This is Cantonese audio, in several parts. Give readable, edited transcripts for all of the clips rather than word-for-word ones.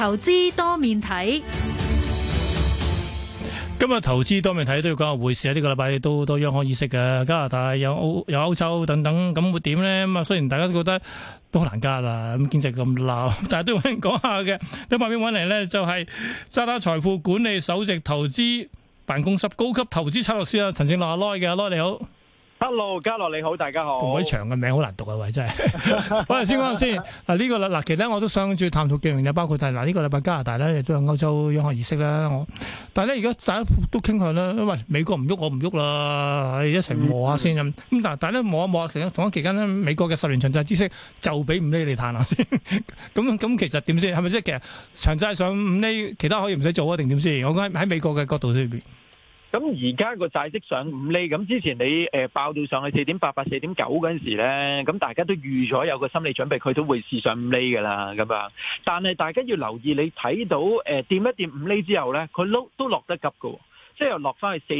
投資多面睇。 今日投資多面睇都要講下匯市啊！呢個禮拜都好多央行議息嘅，加拿大有歐洲等等，咁會點呢？咁啊，雖然大家都覺得都好難加啦，咁經濟咁鬧，但係都有人講下嘅。喺旁邊揾嚟呢，就係渣打財富管理首席投資辦公室高級投資策略師啊，陳正樂阿 Lo 嘅，阿 Lo 你好。 Hello， 嘉樂你好，大家好。 咁鬼長嘅名好難讀啊，喂，真係。我哋先講下先。呢個嗱，其實我都想住探討幾樣嘢，包括係呢個禮拜加拿大咧亦都有歐洲央行議息啦。但係咧而家大家都傾向啦，因為美國唔喐，我唔喐啦，一齊磨下先咁。但係咧磨一磨，其實同一期間咧，美國嘅10年長債孳息就俾5厘你嘆下先。咁其實點先？係咪即係其實長債上5厘，其他可以唔使做啊？定點先？我講喺美國嘅角度裏邊。 咁而家個債息上5厘，咁之前你爆到上去4.88、4.9嗰陣時咧，咁大家都預咗有個心理準備，佢都會試上5厘噶啦，咁樣。但係大家要留意，你睇到掂一掂5厘之後咧，佢都落得急㗎。即係又落翻去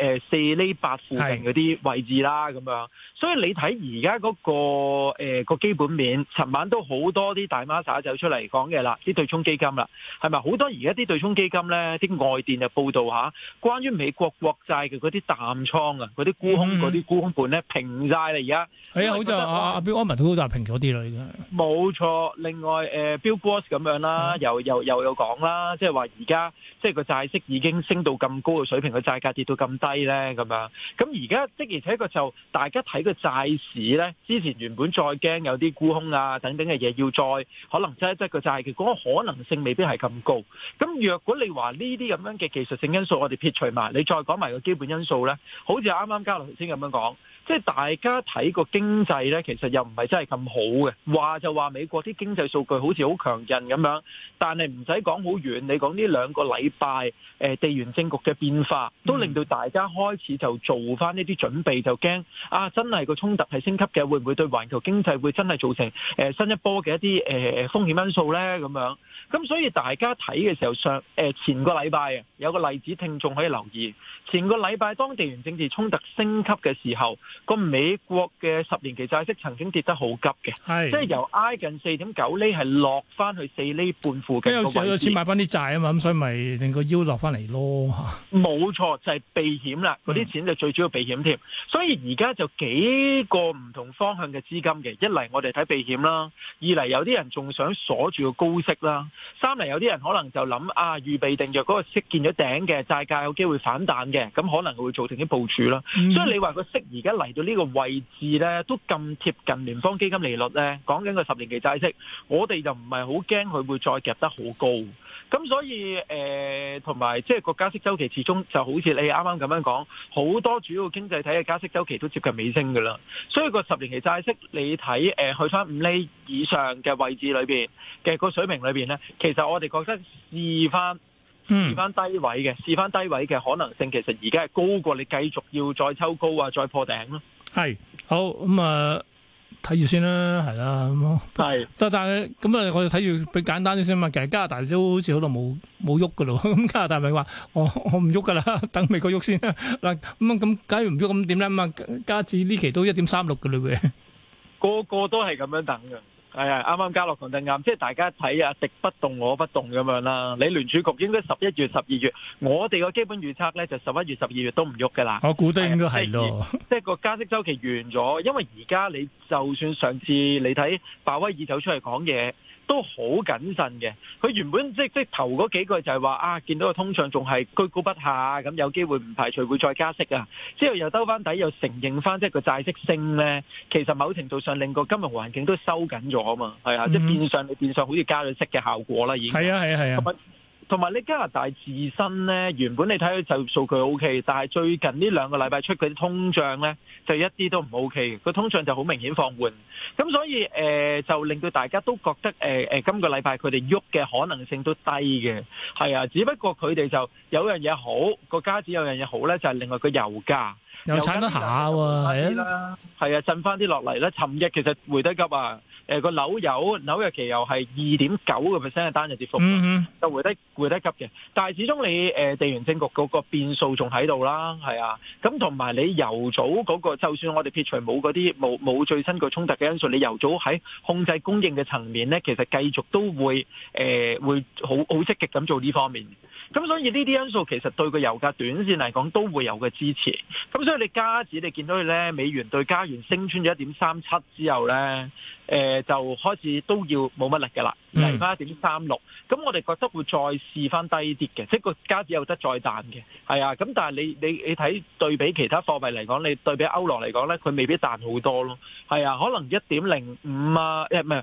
4厘8附近嗰啲位置啦，咁樣。所以你睇而家嗰個基本面，尋晚都好多啲大媽撒走出嚟講嘅啦，啲對沖基金啦，係咪好多而家啲對沖基金咧？啲外電就報道下，關於美國國債嘅嗰啲淡倉啊，嗰啲沽空嗰啲沽空盤咧平晒啦，而家係啊，好似阿標安文都好大平咗啲啦，已經冇錯。另外Bill Gross 咁樣啦，又講啦，即係話而家即係個債息已經升到咁高。個水平嘅債價跌到咁低咧，咁樣咁而家的而且確就大家睇個債市咧，之前原本再驚有啲沽空啊等等嘅嘢，要再可能擠一擠個債嘅嗰個可能性未必係咁高。咁若果你話呢啲咁樣嘅技術性因素，我哋撇除埋，你再講埋個基本因素咧，好似啱啱嘉樂頭先咁樣講。即係大家睇個經濟咧，其實又唔係真係咁好嘅。話就話美國啲經濟數據好似好強勁咁樣，但係唔使講好遠，你講呢2個禮拜地緣政局嘅變化，都令到大家開始就做翻呢啲準備，就驚啊！真係個衝突係升級嘅，會唔會對環球經濟會真係造成新一波嘅一啲風險因素咧？咁樣咁所以大家睇嘅時候前個禮拜有個例子，聽眾可以留意。前個禮拜當地緣政治衝突升級嘅時候，個美國嘅10年期債息曾經跌得好急嘅，即係由挨近4.9厘係落翻去4厘半附近個位置。有錢買翻啲債啊嘛，咁所以咪令個腰落翻嚟咯。 冇錯，就係避險啦，嗰啲錢就最主要避險添。所以而家就幾個唔同方向嘅資金嘅，一嚟我哋睇避險啦，二嚟有啲人仲想鎖住個高息啦，三嚟有啲人可能就諗預備定若嗰個息見咗頂嘅債價有機會反彈嘅，咁可能會做定啲部署啦。所以你話個息而家嚟到呢個位置咧，都咁貼近聯邦基金利率咧，講緊個10年期債息，我哋就唔係好驚佢會再夾得好高。咁所以同埋即係個加息週期始終就好似你啱啱咁樣講，好多主要經濟體嘅加息週期都接近尾聲㗎啦。所以個10年期債息你睇去翻5厘以上嘅位置裏邊嘅個水平裏邊咧，其實我哋覺得試翻低位嘅可能性，其實而家係高過你繼續要再抽高啊，再破頂咯。 係好咁啊，睇住先啦，係啦咁。係，但係咁啊，我哋睇住比簡單啲先嘛。其實加拿大都好似好耐冇喐噶咯。咁加拿大咪話我唔喐噶啦，等美國喐先啦。嗱咁假如唔喐咁點咧？咁啊，加指呢期都1.36噶啦喎。 個個都係咁樣等嘅。係啊，啱啱嘉樂講得啱，即係大家睇啊，敵不動我不動咁樣啦。你聯儲局應該11月、12月，我哋個基本預測咧就11月、12月都唔喐噶啦。 我估得應該係咯， 即係個加息週期完咗，因為而家你就算上次你睇鮑威爾走出嚟講嘢，都好謹慎嘅。佢原本即頭嗰幾句就係話見到個通脹仲係居高不下，咁有機會唔排除會再加息啊。之後又兜翻底，又承認翻即係個債息升咧，其實某程度上令個金融環境都收緊咗啊嘛，係啊，即係變相好似加咗息嘅效果啦，已經係啊。同埋你加拿大自身咧，原本你睇佢就業數據 O K， 但係最近呢2個禮拜出嗰啲通脹咧，就一啲都唔 O K 嘅，個通脹就好明顯放緩。咁所以就令到大家都覺得今個禮拜佢哋喐嘅可能性都低嘅，係啊。只不過佢哋就有樣嘢好，個加指有樣嘢好咧，就係另外個油價又撐得下喎，係啊，震翻啲落嚟咧。尋日其實回得急啊！ 個紐約期油係2.9%嘅單日跌幅，就回得急嘅。但係始終你地緣政局嗰個變數仲喺度啦，係啊。咁同埋你油組嗰個，就算我哋撇除冇嗰啲冇最新個衝突嘅因素，你油組喺控制供應嘅層面咧，其實繼續都會好積極咁做呢方面。咁所以呢啲因素其實對個油價短線嚟講都會有個支持。咁所以你加指你見到佢咧，美元對加元升穿咗1.37之後咧，就開始都要冇乜力嘅啦，嚟翻1.36。咁我哋覺得會再試翻低啲嘅，即係個加指有得再彈嘅，係啊。咁但係你睇對比其他貨幣嚟講，你對比歐羅嚟講咧，佢未必彈好多咯，係啊。可能1.05啊，唔係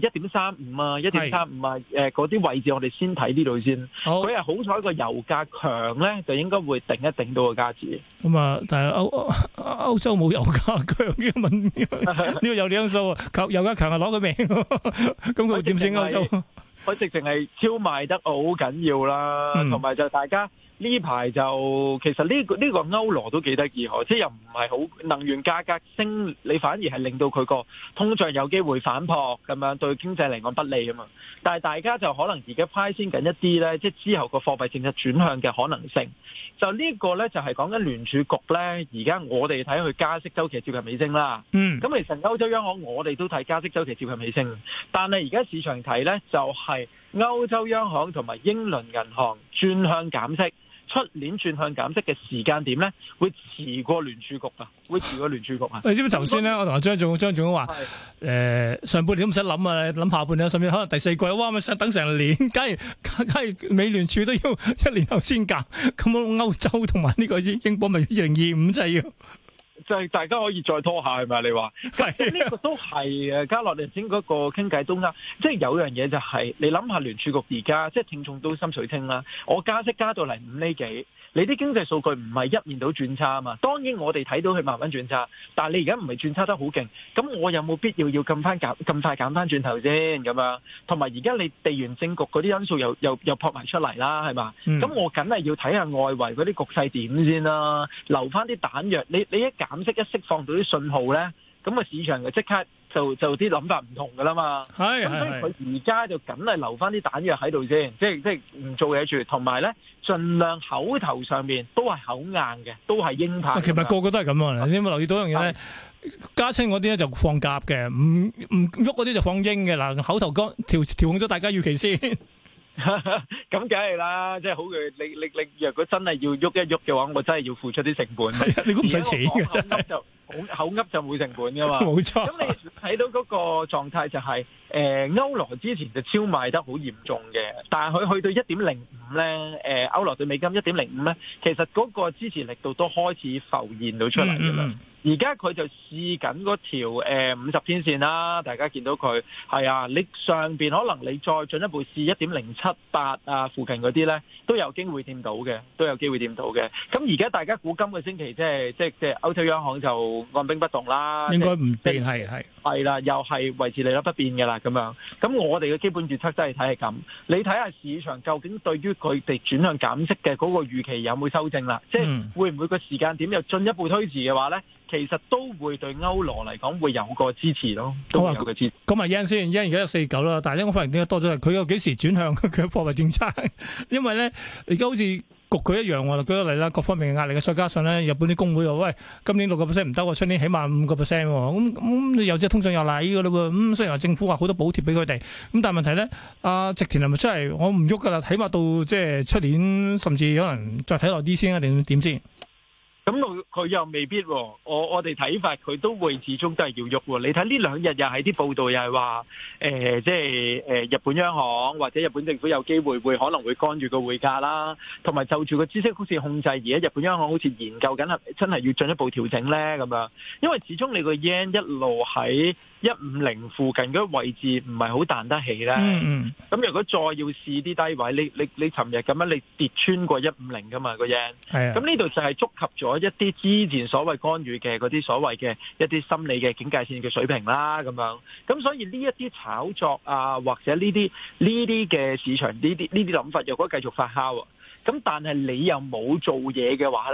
1.35啊，1.35啊，嗰啲位置我哋先睇呢度先。佢係好彩個油價強咧，就應該會頂一頂到個加指。 咁啊，但係歐洲冇油價強嘅問題，呢個有啲因素啊，油價強係攞佢命，咁佢會點先歐洲？ 佢直情係超賣得好緊要啦，同埋就大家呢排就其實呢個歐羅都幾得意喎，即係又唔係好能源價格升，你反而係令到佢個通脹有機會反撲咁樣，對經濟嚟講不利啊嘛。但係大家就可能而家派先緊一啲咧，即係之後個貨幣政策轉向嘅可能性。就呢個咧就係講緊聯儲局咧，而家我哋睇佢加息週期接近尾聲啦。咁其實歐洲央行我哋都睇加息週期接近尾聲，但係而家市場睇咧就係歐洲央行同埋英倫銀行轉向減息。出年轉向減息嘅時間點咧，會遲過聯儲局啊！會遲過聯儲局啊！ 你知唔知頭先咧？我同阿張總話，上半年都唔使諗啊，諗下半年，甚至可能第四季，哇！咪想等成年，假如美聯儲都要1年後先減，咁歐洲同埋呢個英鎊咪2025真係要。 就係大家可以再拖下係咪？你話呢個都係嘅，加落嚟先嗰個傾偈都啱。即係有樣嘢就係、是、你諗下聯儲局而家即係聽眾都心水清啦。我加息加到嚟5厘幾，你啲經濟數據唔係一面倒轉差啊嘛。當然我哋睇到佢慢慢轉差，但係你而家唔係轉差得好勁，咁我有冇必要咁快減翻轉頭先咁樣？同埋而家你地緣政局嗰啲因素又撲埋出嚟啦，係嘛？咁我梗係要睇下外圍嗰啲局勢點先啦，留翻啲彈藥。你一減息一釋放到啲信號咧，咁啊市場就即刻就啲諗法唔同噶啦嘛。咁所以佢而家就梗係留翻啲彈藥喺度先，即係唔做嘢住，同埋咧盡量口頭上面都係口硬嘅，都係鷹派。 其實個個都係咁啊！你有冇留意到一樣嘢咧？加親嗰啲咧就放鴿嘅，唔喐嗰啲就放鷹嘅。嗱，口頭調控咗大家預期先。 咁梗係啦，即係好嘅。你若果真係要喐一喐嘅話，我真係要付出啲成本。 你估唔使錢嘅真係， 口噏就冇成本噶嘛。 冇錯。 咁你睇到嗰個狀態就係、歐羅之前就超賣得好嚴重嘅，但係佢去到1.05咧，歐羅對美金1.05咧，其實嗰個支持力度都開始浮現到出嚟㗎啦。而家佢就試緊嗰條50天線啦，大家見到佢係啊，你上邊可能你再進一步試1.078啊附近嗰啲咧，都有機會掂到嘅，咁而家大家估今個星期即係歐洲央行就按兵不動啦， 應該唔變係啦，又係維持利率不變嘅啦咁樣。咁我哋嘅基本預測真係睇係咁，你睇下市場究竟對於佢哋轉向減息嘅嗰個預期有冇修正啦？即係會唔會個時間點又進一步推遲嘅話咧？其實都會對歐羅嚟講會有個支持咯，都會有個支持。 咁啊 yen 先 yen 而家有49啦，但係咧我發現點解多咗係佢有幾時轉向佢嘅貨幣政策？因為咧而家好似焗佢一樣喎，舉個例啦，各方面嘅壓力嘅，再加上咧日本啲工會話喂，今年6%唔得喎，出年起碼5%喎，咁有隻通脹又嚟㗎啦喎，咁雖然話政府話好多補貼俾佢哋，咁但係問題咧，阿植田係咪出嚟？我唔喐㗎啦，起碼到即係出年，甚至可能再睇耐啲先啊，定點先？ 咁佢又未必喎，我哋睇法佢都會始終都係要喐喎。你睇呢兩日又係啲報道又係話，即係日本央行或者日本政府有機會可能會干預個匯價啦，同埋就住個孳息曲線控制，而家日本央行好似研究緊係真係要進一步調整咧咁樣。因為始終你個 yen 一路喺150附近嗰個位置唔係好彈得起咧。咁如果再要試啲低位，你尋日咁樣你跌穿過150噶嘛個 yen，咁呢度就係觸及咗一啲之前所謂干預嘅嗰啲所謂嘅一啲心理嘅警戒線嘅水平啦，咁樣，咁所以呢一啲炒作啊，或者呢啲嘅市場呢啲諗法，若果繼續發酵，咁但係你又冇做嘢嘅話咧，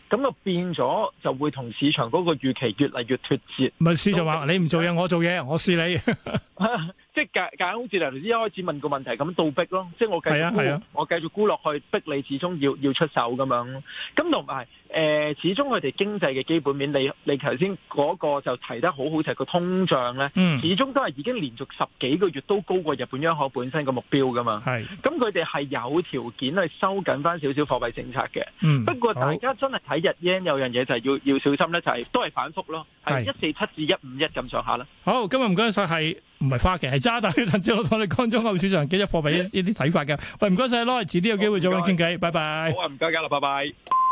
咁啊變咗就會同市場嗰個預期越嚟越脫節。 唔係市場話你唔做嘢，我做嘢，我試你。 即係夾硬好似你頭先一開始問個問題咁倒逼咯，即係我繼續沽，我繼續沽落去，逼你始終要出手咁樣。咁同埋始終佢哋經濟嘅基本面，你頭先嗰個就提得好好，就係個通脹咧，始終都係已經連續10幾個月都高過日本央行本身個目標噶嘛。係，咁佢哋係有條件去收緊翻少少貨幣政策嘅。不過大家真係睇日 yen 有樣嘢就係要小心咧，就係都係反覆咯，係147至151咁上下啦。好， 今日唔該晒係。唔係花旗，係渣打嘅陳志樂同你講中國市場幾隻貨幣呢啲睇法嘅。喂，唔該晒，攞遲啲有機會再揾傾偈，拜拜。 好啊，唔該㗎啦，拜拜。